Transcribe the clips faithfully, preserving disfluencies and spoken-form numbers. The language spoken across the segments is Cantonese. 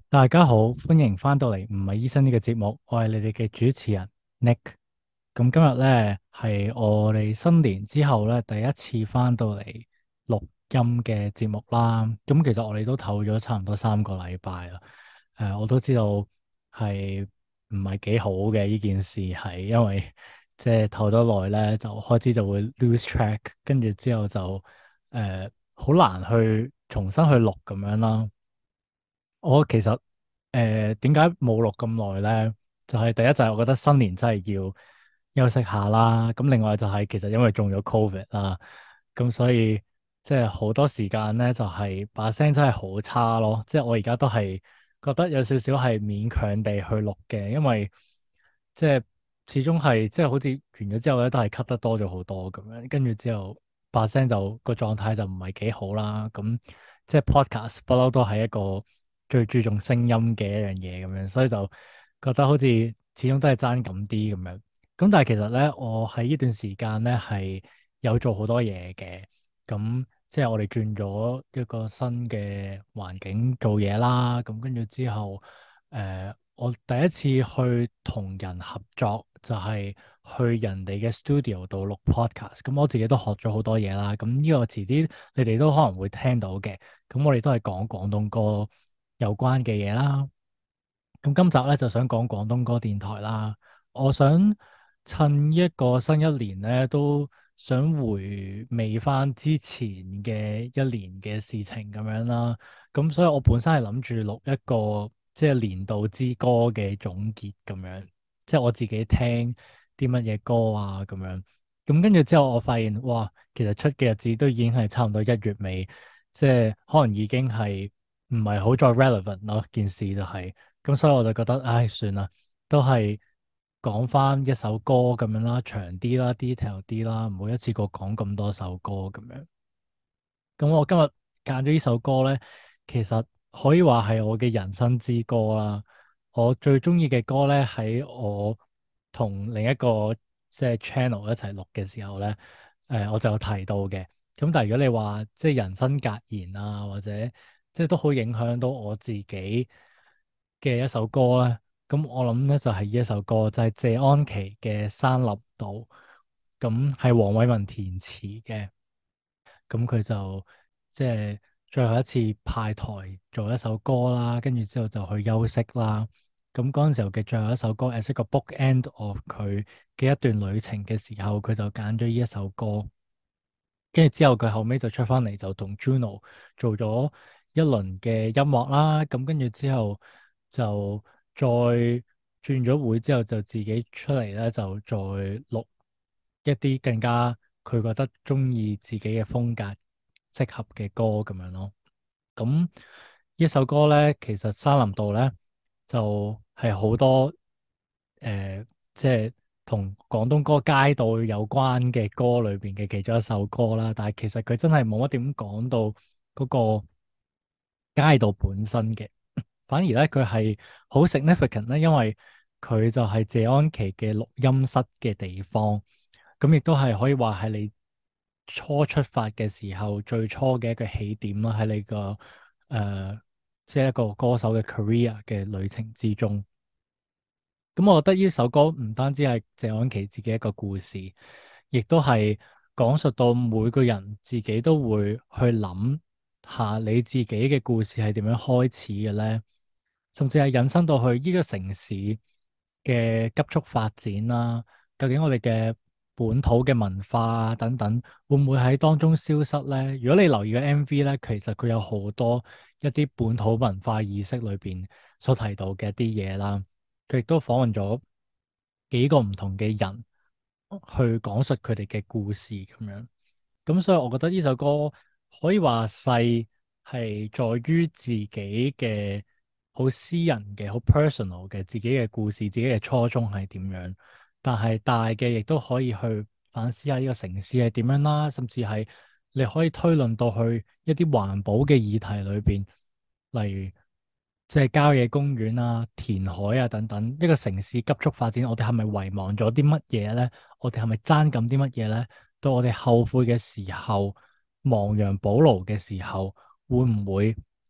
大家好，歡迎翻到嚟唔係醫生呢個節目，我係你哋嘅主持人 Nick。咁今日咧係我哋新年之後咧第一次翻到嚟錄音嘅節目啦。咁其實我哋都唞咗差唔多三個禮拜啦。誒、我都知道係唔係幾好嘅呢件事，係因為即係唞得耐咧，就開始就會 lose track，跟住之後就誒好、難去重新去錄咁樣啦。我其實誒點解冇錄咁耐咧？就係第一就係我覺得新年真係要休息下啦。咁另外就係其實因為中咗 Covid 啦，咁所以即係好多時間咧就係把聲真係好差咯。即係我而家都係覺得有少少係勉強地去錄嘅，因為即係始終係即係好似完咗之後咧都係咳得多咗好多咁樣，跟住之後把聲就個狀態就唔係幾好啦。咁即係 podcast 不嬲都係一個最注重聲音嘅一樣嘢咁樣，所以就覺得好似始終都係爭咁啲咁樣。咁但係其實咧，我喺呢段時間咧係有做好多嘢嘅。咁即係我哋轉咗一個新嘅環境做嘢啦。咁跟住之後，誒、呃，我第一次去同人合作，就係去人哋嘅 studio 度錄 podcast。咁我自己都學咗好多嘢啦。咁呢個遲啲你哋都可能會聽到嘅。咁我哋都係講廣東歌有關嘅嘢啦。咁今集咧就想講廣東歌電台啦。我想趁一個新一年咧，都想回味翻之前嘅一年嘅事情咁樣啦。咁所以我本身係諗住錄一個即係年度之歌嘅總結咁樣，即係我自己聽啲乜嘢歌啊咁樣。咁跟住之後，我發現哇，其實出嘅日子都已經係差唔多一月尾，即係可能已經係唔係好再 relevant 咯。件事就係、是。咁所以我就覺得，唉，算啦，都係講翻一首歌咁樣啦，長啲啦，detail 啲啦，唔好一次過講咁多首歌咁樣。咁我今日揀咗呢首歌咧，其實可以話係我嘅人生之歌啦。我最中意嘅歌咧，喺我同另一個即係 channel 一齊錄嘅時候咧，誒、我就有提到嘅。咁但係如果你話即係人生格言啊，或者即係都好影響到我自己嘅一首歌咧，咁我諗咧就係呢一首歌，就係謝安琪嘅《山林道》，咁係黃偉文填詞嘅。咁佢就即係最後一次派台做一首歌啦，跟住之後就去休息啦。咁嗰陣時候嘅最後一首歌，as 一個 book end of 佢嘅一段旅程嘅時候，佢就揀咗呢一首歌。跟住之後佢後尾就出翻嚟，就同 Juno 做咗一輪嘅音樂啦。咁跟住之後就再轉咗會之後，就自己出嚟咧，就再錄一啲更加佢覺得中意自己嘅風格適合嘅歌咁樣咯。咁呢首歌咧，其實山林道咧就係、是、好多誒、呃，即係同廣東歌街道有關嘅歌裏邊嘅其中一首歌啦。但係其實佢真係冇乜點講到嗰個街道本身嘅，反而咧佢係好 significant 咧，因為佢就係謝安琪嘅錄音室嘅地方。咁亦都係可以話係你初出發嘅時候最初嘅一個起點啦，喺你個誒、呃、即係一個歌手嘅 career 嘅旅程之中。咁我覺得呢首歌唔單止係謝安琪自己一個故事，亦都係講述到每個人自己都會去諗下你自己嘅故事係點樣開始嘅咧，甚至係引申到去呢個城市嘅急速發展啦。究竟我哋嘅本土嘅文化啊等等，會唔會喺當中消失咧？如果你留意個 M V 咧，其實佢有好多一啲本土文化意識裏邊所提到嘅一啲嘢啦。佢亦都訪問咗幾個唔同嘅人去講述佢哋嘅故事咁樣。咁所以我覺得呢首歌可以話細係在於自己嘅好私人嘅好 personal 嘅自己嘅故事，自己嘅初衷係點樣。但係大嘅亦都可以去反思下呢個城市係點樣啦，甚至係你可以推論到去一啲環保嘅議題裏邊，例如即係郊野公園啊、填海啊等等。一個城市急速發展，我哋係咪遺忘咗啲乜嘢咧？我哋係咪爭緊啲乜嘢咧？到我哋後悔嘅時候，亡羊補牢嘅時候，會唔會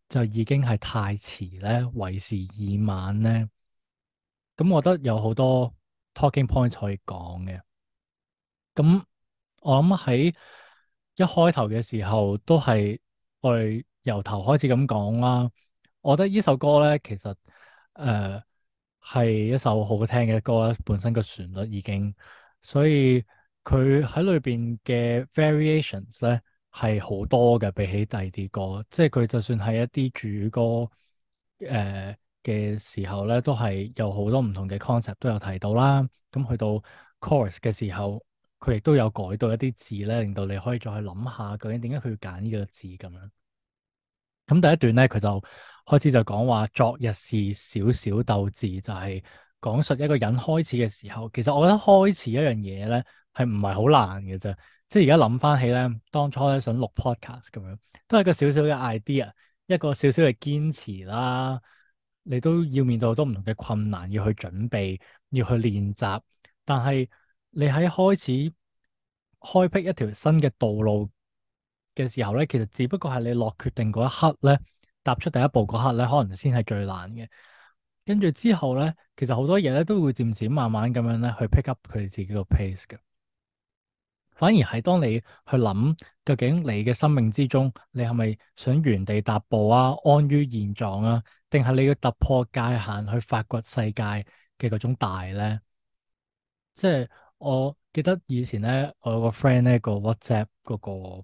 就已經係太遲咧，為時已晚咧。咁我覺得有好多 talking points 可以講嘅。咁我諗喺一開頭嘅時候，都係我哋由頭開始咁講啦。我覺得呢首歌咧，其實誒係、呃、一首好聽嘅歌啦，本身個旋律已經，所以佢喺裏邊嘅 variations 咧係好多嘅，比起第二啲歌，即係佢就算係一啲主歌誒嘅、呃、時候咧，都係有好多唔同嘅 concept 都有提到啦。咁去到 chorus 嘅時候，佢亦都有改到一啲字咧，令到你可以再去諗下究竟點解佢要揀呢個字咁樣。咁第一段咧，佢就開始就講話昨日是小小鬥智，就係講述一個人開始嘅時候。其實我覺得開始一樣嘢咧係唔係好難嘅啫。即係而家諗翻起咧，當初咧想錄 podcast 咁樣，都係一個小小嘅 idea，一個小小嘅堅持啦。你都要面對好多唔同嘅困難，要去準備，要去練習。但係你喺開始開闢一條新嘅道路嘅時候咧，其實只不過係你落決定嗰一刻咧，踏出第一步嗰刻咧，可能先係最難嘅。跟住之後咧，其實好多嘢咧都會漸漸慢慢咁樣咧去 pick up 佢哋自己個 pace 嘅。反而係當你去諗究竟你嘅生命之中，你係咪想原地踏步啊，安於現狀啊，定係你要突破界限去發掘世界嘅嗰種大咧？即係我記得以前咧，我有個 friend 咧個 WhatsApp 嗰個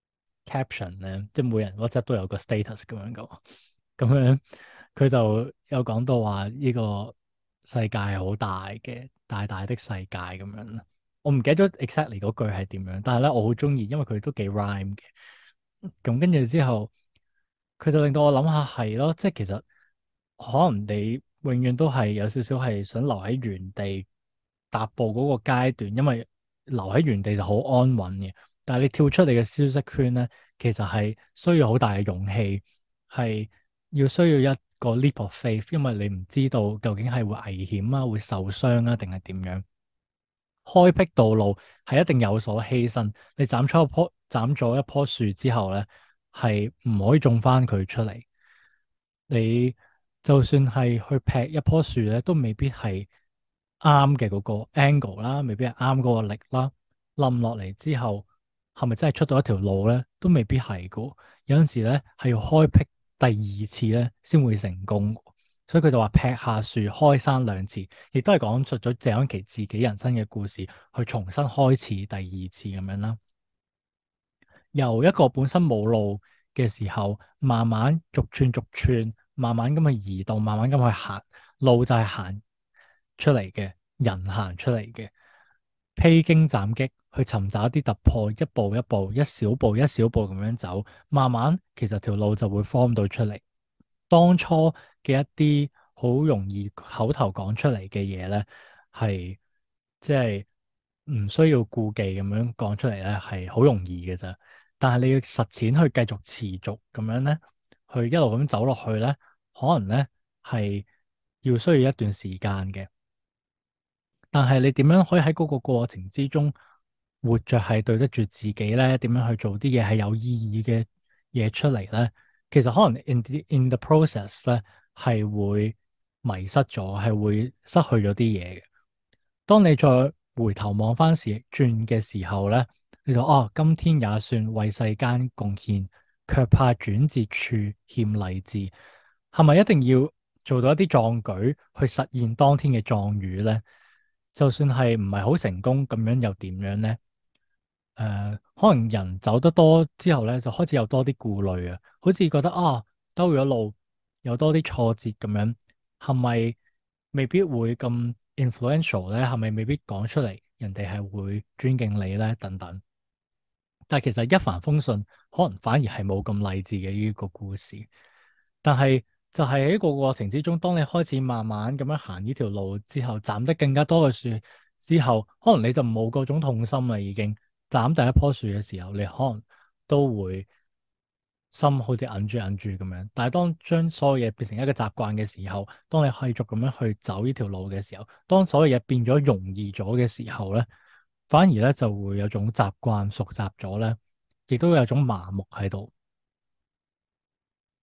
caption 咧，即係每人 WhatsApp 都有個 status 咁樣噶，咁樣佢就有講到話呢個世界係好大嘅，大大的世界咁樣。我唔記得咗 exactly 嗰句係點樣，但係咧我好中意，因為佢都幾 rhyme 嘅。咁跟住之後，佢就令到我諗下係咯，即係其實可能你永遠都係有少少係想留喺原地踏步嗰個階段，因為留喺原地就好安穩嘅。但係你跳出你嘅舒適圈咧，其實係需要好大嘅勇氣，係要需要一個 leap of faith，因為你唔知道究竟係會危險啊，會受傷啊，定係點樣？開闢道路係一定有所犧牲。你斬咗一棵斬咗一棵樹之後咧，係唔可以種翻佢出嚟。你就算係去劈一棵樹咧，都未必係啱嘅嗰個 angle 啦，未必係啱嗰個力啦。冧落嚟之後，係咪真係出到一條路咧？都未必係噶。有陣時咧係要開闢第二次咧，先會成功。所以佢就話劈下樹開山兩次，亦都係講述咗謝安琪自己人生嘅故事，去重新開始第二次咁樣啦。由一個本身冇路嘅時候，慢慢逐寸逐寸，慢慢咁去移動，慢慢咁去行。路就係行出嚟嘅，人行出嚟嘅，披荊斬棘去尋找一啲突破，一步一步，一小步一小步咁樣走，慢慢其實條路就會 form 到出嚟。當初嘅一啲好容易口頭講出嚟嘅嘢咧，係即係唔需要顧忌咁樣講出嚟咧，係好容易嘅咋。但係你要實踐去繼續持續咁樣咧，去一路咁走落去咧，可能咧係要需要一段時間嘅。但係你點樣可以喺嗰個過程之中活着係對得住自己咧？點樣去做啲嘢係有意義嘅嘢出嚟咧？其實可能 in the in the process 咧係會迷失咗，係會失去咗啲嘢嘅。當你再回頭望翻時轉嘅時候咧，你就哦，今天也算為世間貢獻，卻怕轉折處欠勵志。係咪一定要做到一啲壯舉去實現當天嘅壯語咧？就算係唔係好成功，咁樣又點樣咧？誒、呃，可能人走得多之後咧，就開始有多啲顧慮啊，好似覺得啊，兜咗路，有多啲挫折咁樣，係咪未必會咁 influential 咧？係咪未必講出嚟，人哋係會尊敬你咧？等等。但係其實一帆風順，可能反而係冇咁勵志嘅呢個故事。但係就係喺個過程之中，當你開始慢慢咁樣行呢條路之後，斬得更加多嘅樹之後，可能你就冇嗰種痛心啦。已經斬第一棵樹嘅時候，你可能都會心好似揞住揞住咁樣。但係當將所有嘢變成一個習慣嘅時候，當你繼續咁樣去走呢條路嘅時候，當所有嘢變咗容易咗嘅時候咧，反而咧就會有種習慣熟習咗咧，亦都有種麻木喺度。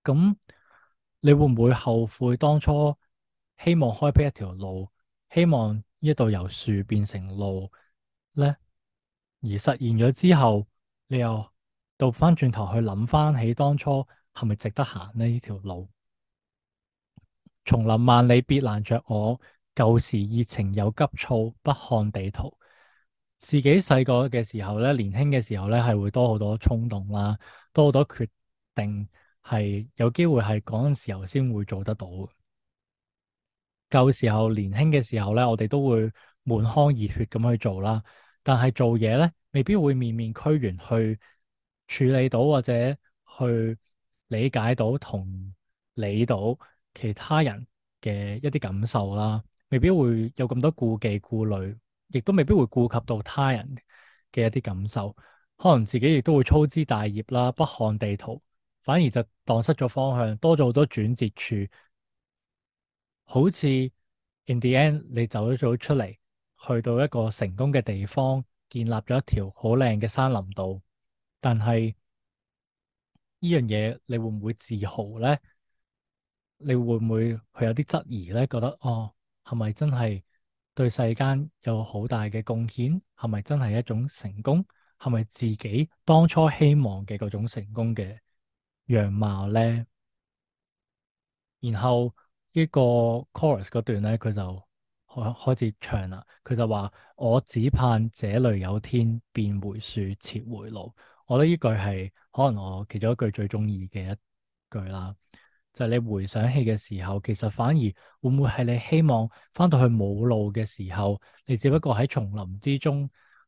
咁你會唔會後悔當初希望開闢一條路，希望呢一度由樹變成路呢？而實現咗之後，你又倒翻轉頭去諗翻起當初係咪值得行呢呢條路？叢林萬里別攔着我，舊時熱情又急躁，不看地圖。自己細個嘅時候咧，年輕嘅時候咧，係會多好多衝動啦，多好多決定，係有機會係嗰陣時候先會做得到。舊時候年輕嘅時候咧，我哋都會滿腔熱血咁去做啦，但係做嘢咧，未必會面面俱圓去處理到或者去理解到同理到其他人嘅一啲感受啦，未必會有咁多顧忌顧慮，亦都未必會顧及到他人嘅一啲感受，可能自己亦都會粗枝大葉啦，不看地圖，反而就蕩失咗方向，多咗好多轉折處。好似 in the end 你走咗出嚟，去到一個成功嘅地方，建立咗一條好靚嘅山林道，但係呢樣嘢你會唔會自豪呢？你會唔會去有啲質疑呢？覺得哦，係咪真係對世間有好大嘅貢獻？係咪真係一種成功？係咪自己當初希望嘅嗰種成功嘅樣貌呢？然後呢個 chorus 嗰段咧，佢就開開始唱啦。佢就話：我只盼這裏有天，變回樹，撤回路。我覺得呢句係可能我其中一句最中意嘅一句啦。就係你回想起嘅時候，其實反而會唔會係你希望翻到去冇路嘅時候，你只不過喺叢林之中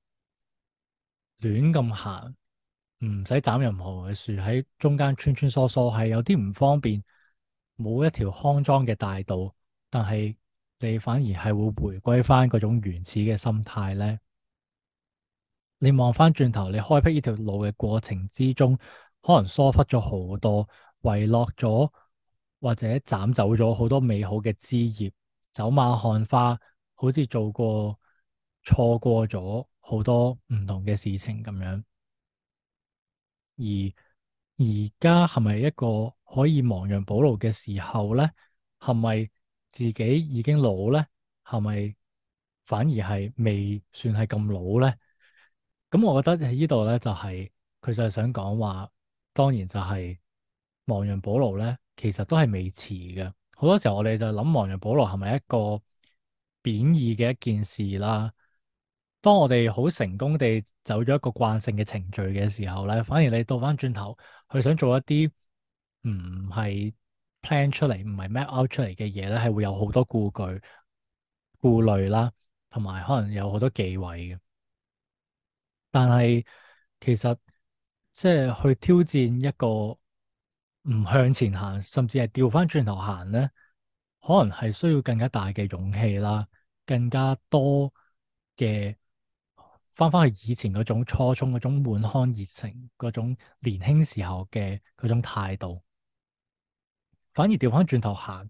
亂咁行，唔使斬任何嘅樹，喺中間穿穿梭梭，係有啲唔方便，冇一條康莊嘅大道，但係你反而係會回歸翻嗰種原始嘅心態咧。你望翻轉頭，你開闢呢條路嘅過程之中，可能疏忽咗好多，遺落咗或者斬走咗好多美好嘅枝葉，走馬看花，好似做過錯過咗好多唔同嘅事情咁樣。而而家係咪一個可以亡羊補牢嘅時候呢？係咪自己已經老呢？係咪反而係未算係咁老呢？咁我覺得喺呢度呢，就係佢就係想講話，當然就係亡羊補牢呢，其實都係未遲嘅。好多時候我哋就諗亡羊補牢係咪一個貶義嘅一件事啦？當我哋好成功地走咗一個慣性嘅程序嘅時候咧，反而你倒翻轉頭，去想做一啲唔係 plan 出嚟，唔係 map out 出嚟嘅嘢咧，係會有好多顧慮、顧慮啦，同埋可能有好多忌諱嘅。但係其實即係去挑戰一個唔向前行，甚至係調翻轉頭行咧，可能係需要更加大嘅勇氣啦，更加多嘅翻翻去以前嗰種初衷、嗰種滿腔熱誠、嗰種年輕時候嘅嗰種態度，反而調翻轉頭行，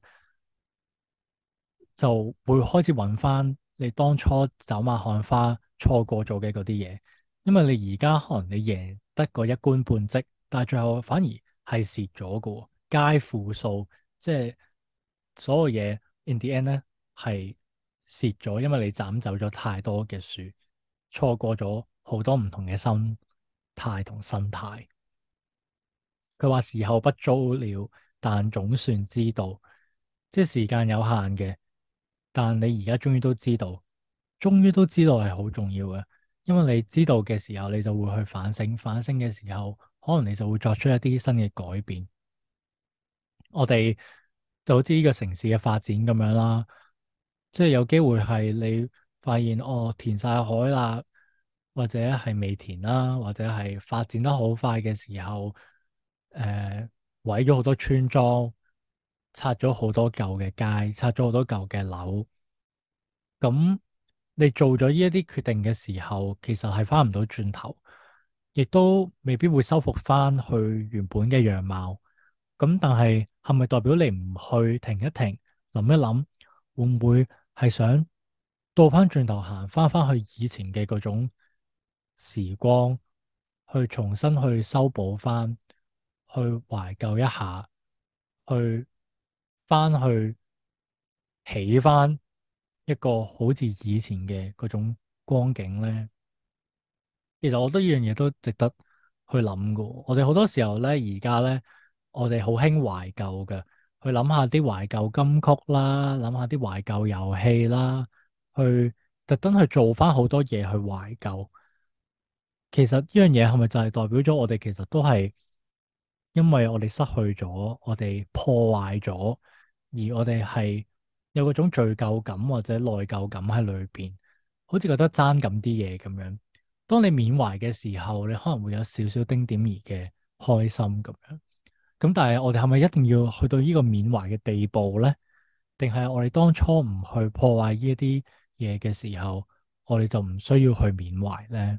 就會開始揾翻你當初走馬看花錯過咗嘅嗰啲嘢，因為你而家可能你贏得個一官半職，但係最後反而係蝕咗嘅，皆負數，即係所有嘢 in the end 咧係蝕咗，因為你斬走咗太多嘅樹，錯過咗好多唔同嘅心態同心態。佢話時候不早了，但總算知道，即係時間有限嘅。但你而家終於都知道，終於都知道係好重要嘅，因為你知道嘅時候，你就會去反省，反省嘅時候，可能你就會作出一啲新嘅改變。我哋就好似呢個城市嘅發展咁樣啦，即係有機會係你發現哦，填晒海啦，或者係未填啦，或者係發展得好快嘅時候，誒、呃，毀咗好多村莊，拆咗好多舊嘅街，拆咗好多舊嘅樓。咁你做咗呢一啲決定嘅時候，其實係翻唔到轉頭，亦都未必會修復翻去原本嘅樣貌。咁但係係咪代表你唔去停一停，諗一諗，會唔會係想倒翻轉頭行翻翻去以前嘅嗰種時光，去重新去修補翻，去懷舊一下， 去翻去起翻一個好似以前嘅嗰種光景咧？其實我覺得呢樣嘢都值得去諗噶。我哋好多時候咧，而家咧，我哋好興懷舊嘅，去諗下啲懷舊金曲啦，諗下啲懷舊遊戲啦，去特登去做翻好多嘢去懷舊。其實呢樣嘢係咪就係代表咗我哋其實都係因為我哋失去咗，我哋破壞咗，而我哋係有嗰種罪疚感或者內疚感喺裏邊，好似覺得爭咁啲嘢咁樣。當你緬懷嘅時候，你可能會有少少丁點兒嘅開心咁樣。咁但係我哋係咪一定要去到呢個緬懷嘅地步咧？定係我哋當初唔去破壞呢一啲嘢嘅時候，我哋就唔需要去緬懷咧？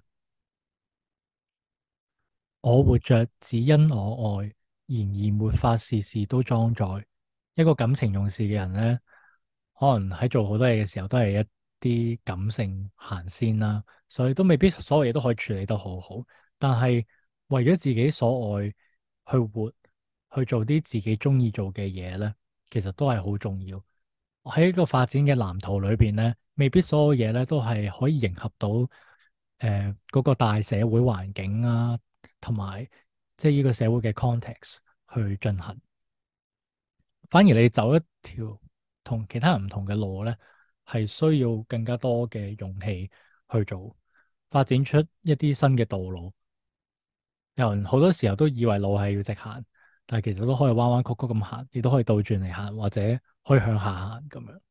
我活着只因我愛，然而沒法事事都裝載。一個感情用事嘅人咧，可能喺做好多嘢嘅時候，都係一啲感性行先啦，所以都未必所有嘢都可以處理得好好。但係為咗自己所愛去活，去做啲自己中意做嘅嘢咧，其實都係好重要。喺一個發展嘅藍圖裏邊咧，未必所有嘢咧都係可以迎合到誒嗰、呃嗰個大社會環境啊，同埋即係呢個社會嘅 context 去進行。反而你走一條同其他人唔同嘅路咧，係需要更加多嘅勇氣去做，發展出一啲新嘅道路。有人好多時候都以為路係要直行，但係其實都可以彎彎曲曲咁行，亦都可以倒轉嚟行，或者可以向下行咁樣。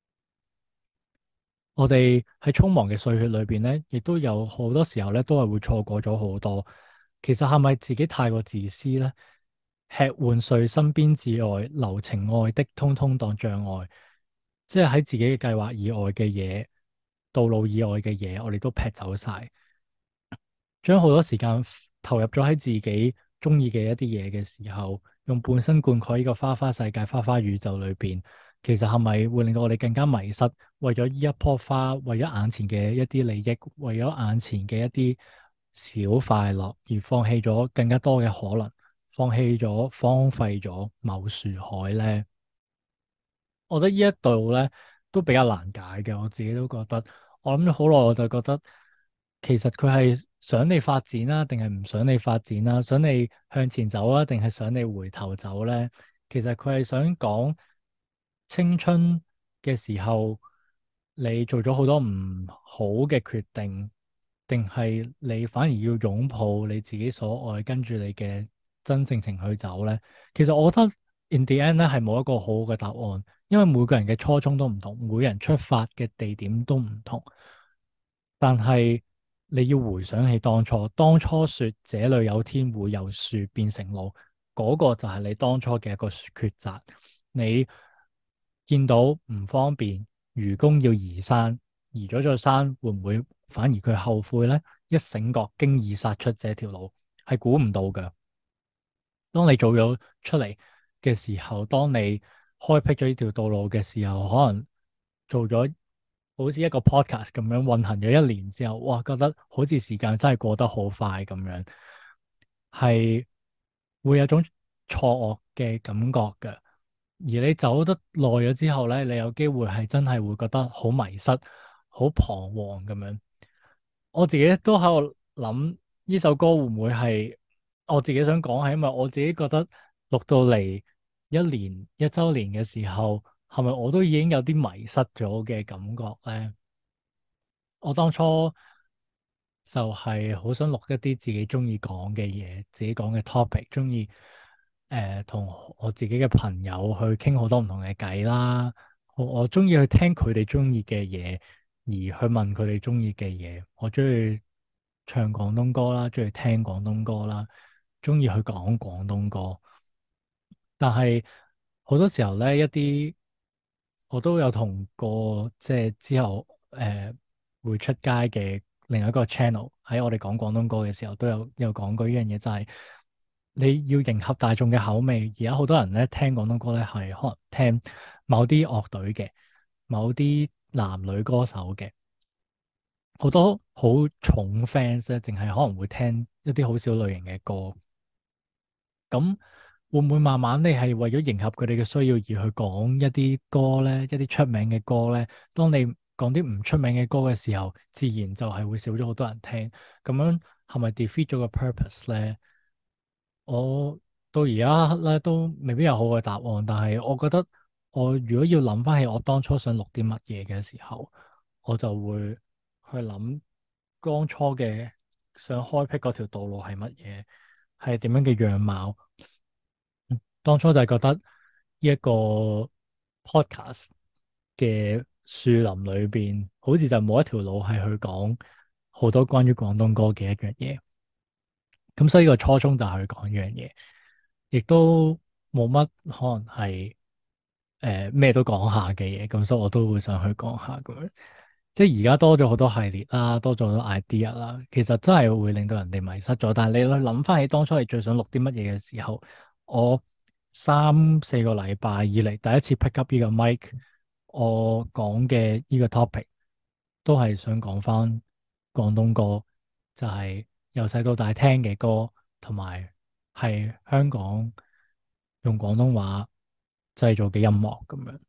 我哋喺匆忙嘅歲月裏邊咧，亦都有好多時候咧，都係會錯過咗好多。其實係咪自己太過自私咧？吃換睡身邊至愛，留情愛的通通當障礙，即係喺自己嘅計劃以外嘅嘢，道路以外嘅嘢，我哋都劈走晒。將好多時間投入咗喺自己中意嘅一啲嘢嘅時候，用半生灌溉呢個花花世界、花花宇宙裏邊，其實係咪會令到我哋更加迷失？為咗呢一棵花，為咗眼前嘅一啲利益，為咗眼前嘅一啲小快樂，而放棄咗更加多嘅可能，放棄咗、荒廢咗某樹海咧？我覺得呢一度咧都比較難解嘅，我自己都覺得。我諗咗好耐，我就覺得其實佢係想你發展啦，定係唔想你發展啦？想你向前走啊，定係想你回頭走咧？其實佢係想講青春嘅時候，你做咗好多唔好嘅決定，定係你反而要擁抱你自己所愛，跟住你嘅真性情去走咧？其實我覺得 in the end 咧係冇一個好好嘅答案。因為每個人嘅初衷都唔同，每個人出發嘅地點都唔同。但係你要回想起當初，當初說這裏有天會由樹變成路，嗰個就係你當初嘅一個抉擇。你見到唔方便，愚公要移山，移咗座山，會唔會反而佢後悔呢？一醒覺，經已殺出這條路，係估唔到㗎。當你做咗出嚟嘅時候，當你開闢咗呢條道路嘅時候，可能做咗好似一個 podcast 咁樣運行咗一年之後，哇，覺得好似時間真係過得好快咁樣，係會有種錯愕嘅感覺嘅。而你走得耐咗之後咧，你有機會係真係會覺得好迷失、好彷徨咁樣。我自己都喺度諗呢首歌會唔會係我自己想講，係因為我自己覺得錄到嚟一年一周年嘅時候，係咪我都已經有啲迷失咗嘅感覺咧？我當初就係好想錄一啲自己中意講嘅嘢，自己講嘅 topic，中意誒同我自己嘅朋友去傾好多唔同嘅偈啦。我我中意去聽佢哋中意嘅嘢，而去問佢哋中意嘅嘢。我中意唱廣東歌啦，中意聽廣東歌啦，中意去講廣東歌。但係好多時候咧，一啲我都有同過，即係之後誒、呃、會出街嘅另外一個 channel 喺我哋講廣東歌嘅時候，都有有講過呢樣嘢，就係你要迎合大眾嘅口味。而家好多人咧聽廣東歌咧，係可能聽某啲樂隊嘅，某啲男女歌手嘅，好多好重 fans 咧，淨係可能會聽一啲好少類型嘅歌。咁會唔會慢慢你係為咗迎合佢哋嘅需要而去講一啲歌咧，一啲出名嘅歌咧？當你講啲唔出名嘅歌嘅時候，自然就係會少咗好多人聽。咁樣係咪 defeat 咗個 purpose 咧？我到而家咧都未必有好嘅答案，但係我覺得我如果要諗翻起我當初想錄啲乜嘢嘅時候，我就會去諗當初嘅想開闢嗰條道路係乜嘢，係點樣嘅樣貌。當初就係覺得呢一個 podcast 嘅樹林裏邊，好似就冇一條路係去講好多關於廣東歌嘅一樣嘢。咁所以個初衷就係去講呢樣嘢，亦都冇乜可能係誒咩都講下嘅嘢。咁所以我都會想去講下咁樣。即係而家多咗好多系列啦，多咗好多 idea 啦，其實真係會令到人哋迷失咗。但係你去諗翻起當初你最想錄啲乜嘢嘅時候，我三四個禮拜以嚟第一次 pick up 呢個 mic，我講嘅呢個 topic 都係想講翻廣東歌，就係由細到大聽嘅歌，同埋係香港用廣東話製造嘅音樂咁樣。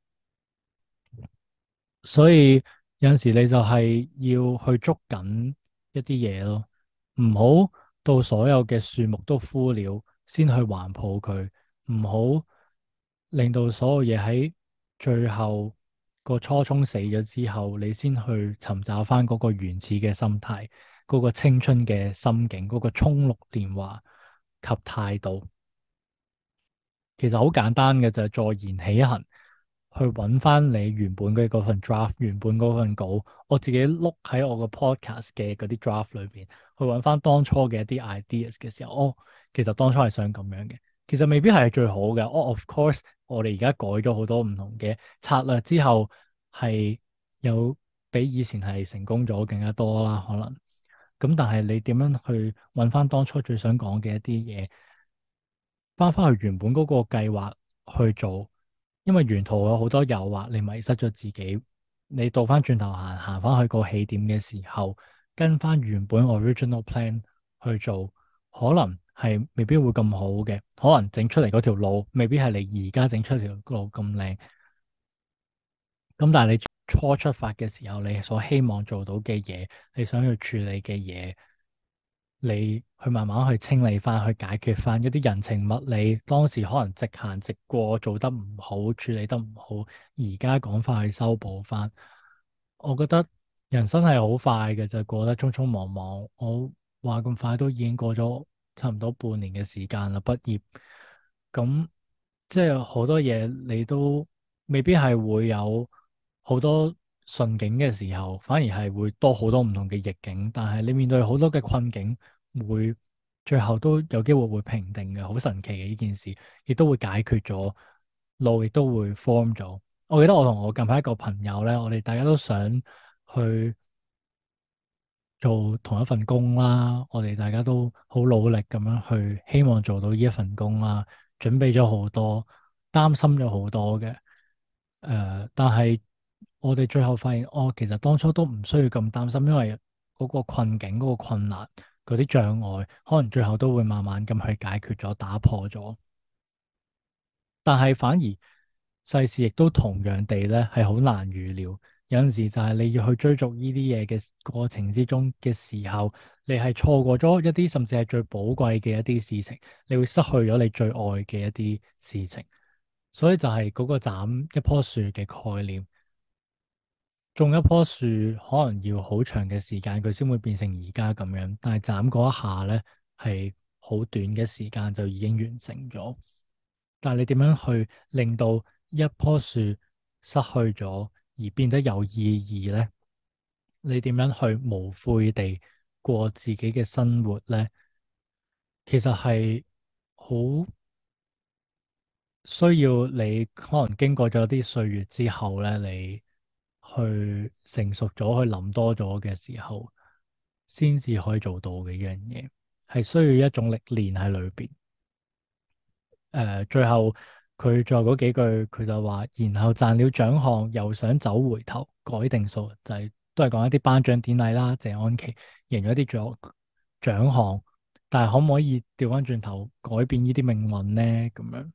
所以有陣時你就係要去捉緊一啲嘢咯，唔好到所有嘅樹木都枯了先去環抱佢，唔好令到所有嘢喺最後個初衷死咗之後，你先去尋找翻嗰個原始嘅心態，嗰個青春嘅心境，嗰個衝六年華及態度。其實好簡單嘅就係坐言起行，去揾翻你原本嘅嗰份 draft，原本嗰份稿。我自己碌喺我個 podcast 嘅嗰啲 draft 裏邊，去揾翻當初嘅一啲 ideas 嘅時候，哦，其實當初係想咁樣嘅，其實未必係最好嘅。哦，of course，我哋而家改咗好多唔同嘅策略之後，係有比以前係成功咗更加多啦，可能。咁但係你點樣去揾翻當初最想講嘅一啲嘢？翻翻去原本嗰個計劃去做，因為沿途有好多誘惑，你迷失咗自己。你倒翻轉頭行，行翻去個起點嘅時候，跟翻原本 original plan 去做，可能係未必會咁好嘅，可能整出嚟嗰條路未必係你而家整出條路咁靚。咁但係你初出發嘅時候，你所希望做到嘅嘢，你想要處理嘅嘢。你去慢慢去清理翻，去解決翻一啲人情物理，當時可能直行直過，做得唔好，處理得唔好，而家趕快去修補翻。我覺得人生係好快嘅，就過得匆匆忙忙。我話咁快都已經過咗差唔多半年嘅時間啦，畢業。咁即係好多嘢你都未必係會有好多順境嘅時候，反而係會多好多唔同嘅逆境。但係你面對好多嘅困境，會最後都有機會會平定嘅，好神奇嘅呢件事，亦都會解決咗，路亦都會 form 咗。我記得我同我近排一個朋友咧，我哋大家都想去做同一份工啦，我哋大家都好努力咁樣去，希望做到呢一份工啦，準備咗好多，擔心咗好多嘅。誒、呃，但係我哋最後發現，哦，其實當初都唔需要咁擔心，因為嗰個困境、嗰個困難、嗰啲障礙，可能最後都會慢慢咁去解決咗、打破咗。但係反而世事亦都同樣地咧，係好難預料。有陣時就係你要去追逐呢啲嘢嘅過程之中嘅時候，你係錯過咗一啲甚至係最寶貴嘅一啲事情，你會失去咗你最愛嘅一啲事情。所以就係嗰個斬一棵樹嘅概念，種一棵樹可能要好長嘅時間，佢先會變成而家咁樣。但係斬嗰一下咧，係好短嘅時間就已經完成咗。但係你點樣去令到一棵樹失去咗而變得有意義呢？你點樣去無悔地過自己嘅生活呢？其實係好需要你可能經過咗啲歲月之後咧，你去成熟咗，去諗多咗嘅時候，先至可以做到嘅一樣嘢，係需要一種歷練喺裏邊。誒、呃，最後佢最後嗰幾句，佢就話，然後賺了獎項，又想走回頭，改定數，就係、是、都係講一啲頒獎典禮啦。謝安琪贏咗啲獎獎項， 但係可唔可以調翻轉頭改變呢啲命運呢？咁樣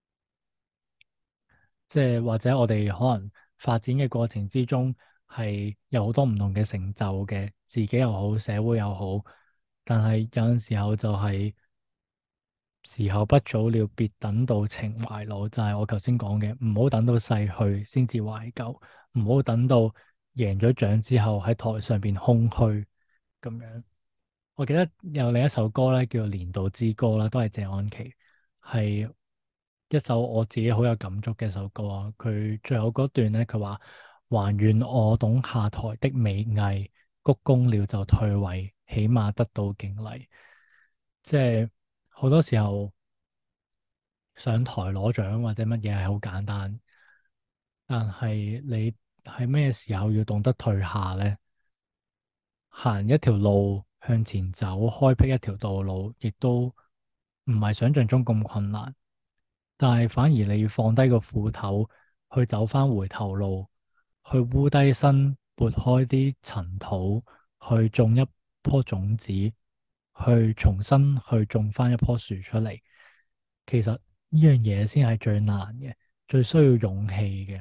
即係或者我哋可能發展嘅過程之中係有好多唔同嘅成就嘅，自己又好，社會又好，但係有陣時候就係時候不早了，別等到情懷老，就係我頭先講嘅，唔好等到逝去先至懷舊，唔好等到贏咗獎之後喺台上邊空虛咁樣。我記得有另一首歌咧，叫做《年度之歌》啦，都係謝安琪，係一首我自己好有感觸嘅一首歌啊。佢最後嗰段咧，佢話還願我懂下台的美藝，鞠躬了就退位，起碼得到敬禮。即係好多時候上台攞獎或者乜嘢係好簡單，但係你喺咩時候要懂得退下咧？行一條路向前走，開闢一條道路，亦都唔係想象中咁困難。但係反而你要放低個斧頭，去走翻回頭路，去烏低身，撥開啲塵土，去種一棵種子，去重新去種翻一棵樹出嚟。其實呢樣嘢先係最難嘅，最需要勇氣嘅。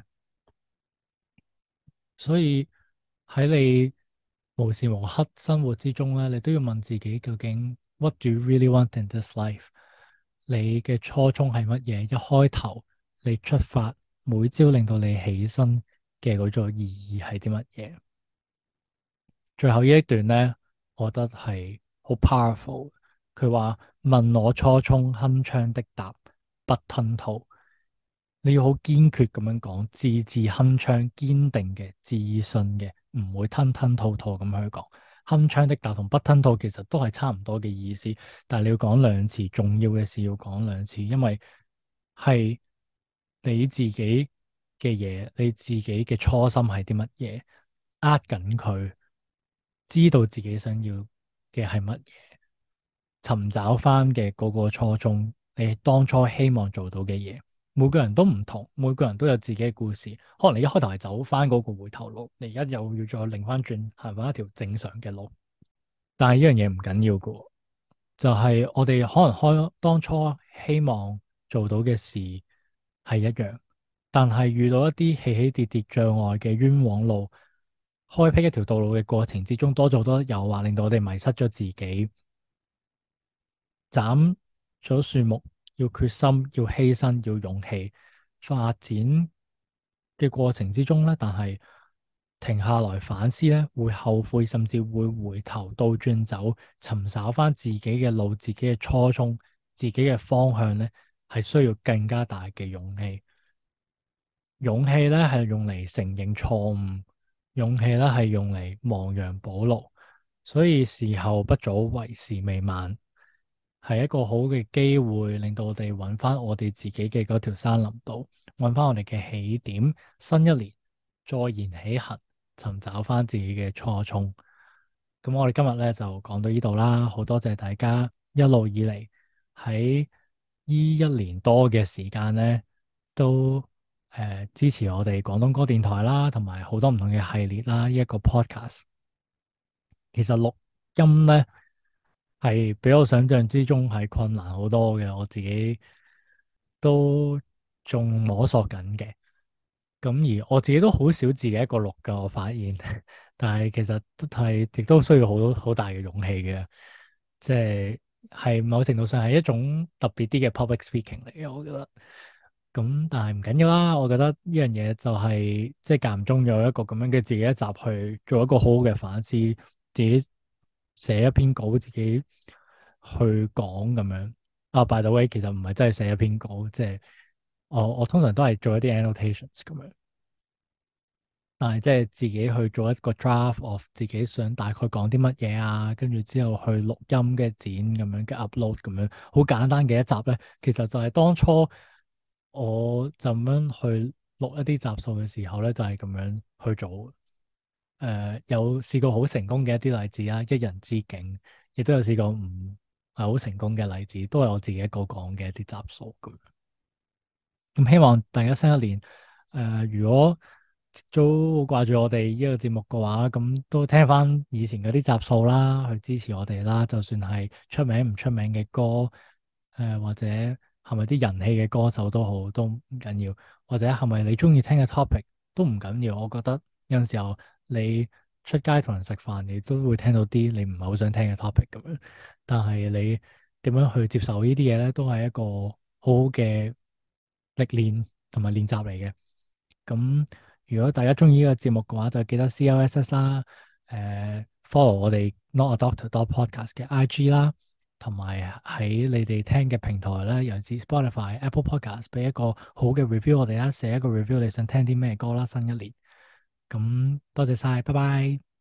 所以喺你無時無刻生活之中咧，你都要問自己究竟 What do you really want in this life？你嘅初衷係乜嘢？一開頭你出發，每朝令到你起身嘅嗰個意義係啲乜嘢？最後呢一段咧，我覺得係好 powerful。佢話問我初衷，鏗鏘的答，不吞吐。你要好堅決咁樣講，字字鏗鏘，堅定嘅、自信嘅，唔會吞吞吐吐咁去講。鏗鏘的答同不吞吐其實都係差唔多嘅意思，但係你要講兩次，重要嘅事要講兩次，因為係你自己嘅嘢，你自己嘅初心係啲乜嘢，握緊佢，知道自己想要嘅係乜嘢，尋找翻嘅嗰個初衷，你當初希望做到嘅嘢。每個人都唔同，每個人都有自己嘅故事。可能你一開頭係走翻嗰個回頭路，你而家又要再擰翻轉，行翻一條正常嘅路。但係呢樣嘢唔緊要嘅，就係我哋可能開當初希望做到嘅事係一樣，但係遇到一啲起起跌跌障礙嘅冤枉路，開闢一條道路嘅過程之中，多咗好多誘惑，令到我哋迷失咗自己。斬咗樹木，要決心，要犧牲，要勇氣。發展嘅過程之中咧，但係停下來反思咧，會後悔，甚至會回頭倒轉走，尋找翻自己嘅路、自己嘅初衷、自己嘅方向咧，係需要更加大嘅勇氣。勇氣咧係用嚟承認錯誤，勇氣咧係用嚟亡羊補牢。所以時候不早，為時未晚。係一個好嘅機會，令到我哋揾翻我哋自己嘅嗰條山林道，揾翻我哋嘅起點。新一年再言起行，尋找翻自己嘅初衷。咁我哋今日咧就講到呢度啦，好多謝大家一路以嚟喺呢一年多嘅時間咧，都誒、呃、支持我哋廣東歌電台啦，同埋好多唔同嘅系列啦，呢一個 podcast。其實錄音咧，係比我想象之中係困難好多嘅，我自己都仲摸索緊嘅。咁而我自己都好少自己一個錄㗎，我發現。但係其實都係亦都需要好好大嘅勇氣嘅，即係係某程度上係一種特別啲嘅 public speaking 嚟嘅，我覺得。咁但係唔緊要啦，我覺得呢樣嘢就係即係間唔中有一個咁樣嘅自己一集去做一個好好嘅反思，自己寫一篇稿，自己去講咁樣。啊，by the way，其實唔係真係寫一篇稿，即係我我通常都係做一啲 annotations 咁樣。但係即係自己去做一個 draft of 自己想大概講啲乜嘢啊，跟住之後去錄音嘅剪咁樣嘅 upload 咁樣，好簡單嘅一集咧，其實就係當初我就咁樣去錄一啲集數嘅時候咧，就係、是、咁樣去做。誒、呃，有試過好成功嘅一啲例子啊，一人之境，亦都有試過唔係好成功嘅例子，都係我自己一個講嘅一啲集數咁。咁希望大家新一年誒、呃，如果都掛住我哋呢個節目嘅話，咁都聽翻以前嗰啲集數啦，去支持我哋啦。就算係出名唔出名嘅歌，誒、呃、或者係咪啲人氣嘅歌手都好，都唔緊要。或者係咪你中意聽嘅 topic 都唔緊要。我覺得有陣時候你出街同人食飯，你都會聽到啲你唔係好想聽嘅 topic 咁樣。但係你點樣去接受呢啲嘢咧，都係一個好好嘅歷練同埋練習嚟嘅。咁如果大家中意呢個節目嘅話，就記得 C L S S 啦，誒 follow 我哋 Not a Doctor dot Podcast 嘅 I G 啦，同埋喺你哋聽嘅平台咧，尤其是 Spotify、Apple Podcast，俾一個好嘅 review 我哋啦，寫一個 review 你想聽啲咩歌啦，新一年。咁多謝晒，拜拜。